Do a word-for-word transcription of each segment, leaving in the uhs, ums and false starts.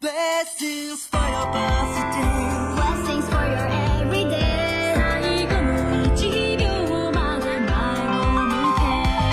Blessings for your birthday Blessings for your everyday 最後の一秒まで前を向け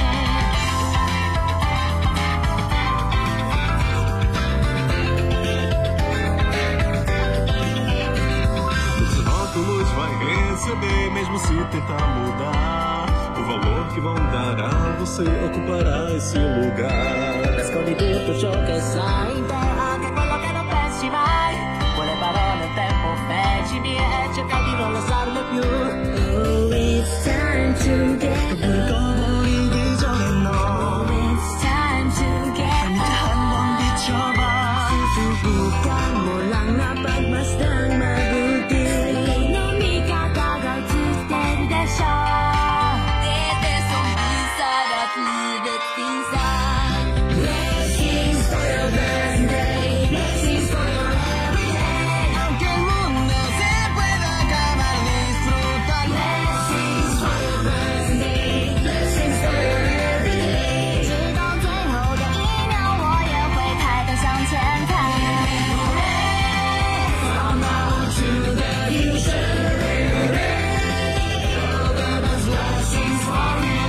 Esse rótulos vai receber mesmo se tentar mudar. O valor que vão dar a você ocupará esse lugar. Nascondi tutto ciò che sai in te, anche quello che non pensi mai. Quelle parole il tempo feccimi e cerca di non lasciarle più. Oh, it's time to get 물꺼버리기 전에 너 Oh, it's time to get 한번 비춰봐 Susubukan mo lang na pagmasdan mabuti Ekonomi kakagaw-tutter desha Det är som visar att livet finns där Blessings for your birthday Blessings for your everyday Aunque el mundo se pueda acabar, disfrútalo Blessings for your birthday Blessings for your everyday 直到最后的一秒我也会抬头向前看 From now to the future All of those blessings for you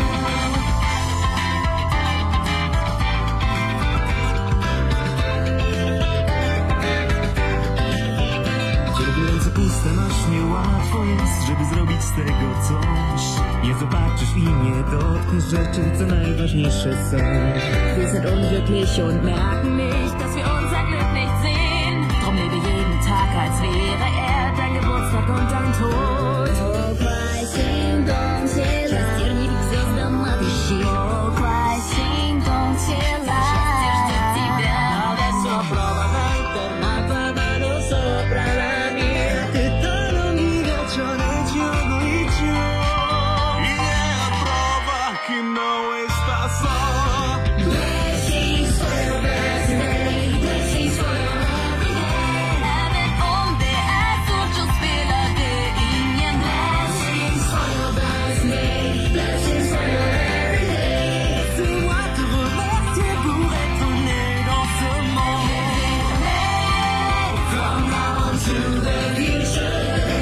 Kiedy ręce puste masz, niełatwo jest, żeby zrobić z tego coś. Nie zobaczysz i nie dotkniesz rzeczy, co najważniejsze są. Wir sind unglücklich und merken nicht, dass wir unser Glück nicht sehen. Drum lebe jeden Tag, als wäre er dein Geburtstag und dein Tod. Окрай синтом тела, счастье не звездам отыщи. Окрай синтом тела, счастье ждет тебя. Adesso prova la internata mano sopra la mia 뜻대로 네가 전해주고 있죠 Yeah, prova que não está só. Blessings for your birthday, blessings for your everyday. Även om det är svårt så spelar det ingen roll. Blessings for your birthday, blessings for your everyday. Laissez-moi te remercier pour être né dans ce monde From now on to the future,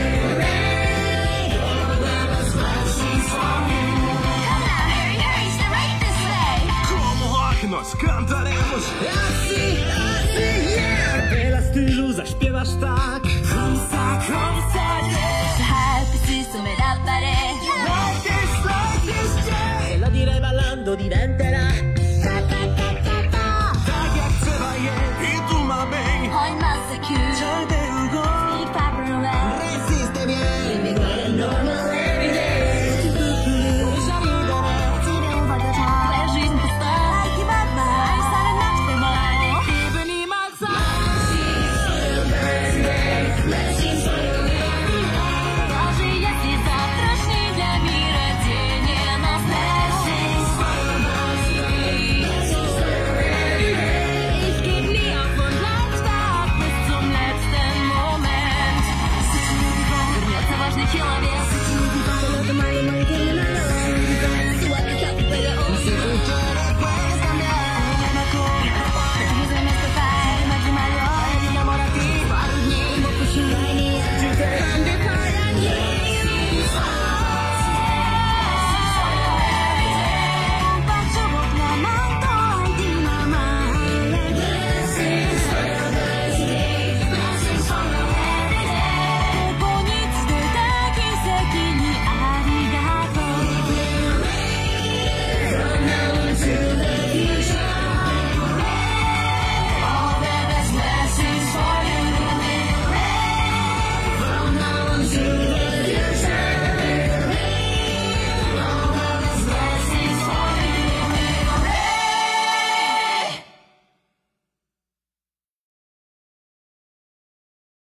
blessings for you. Come now, Harry, Harry, stay right this way. Como rock nós cantaremos. Assim, assim, yeah Hela stylu zaśpiewasz tak. Komsa, komsa, yeah Så här precis som en rappare. Like this, like this, yeah E la direi ballando diventerà. Ta, ta, ta, ta, ta. Tak jak trzeba je i tu ma bem. Ha en massa kul.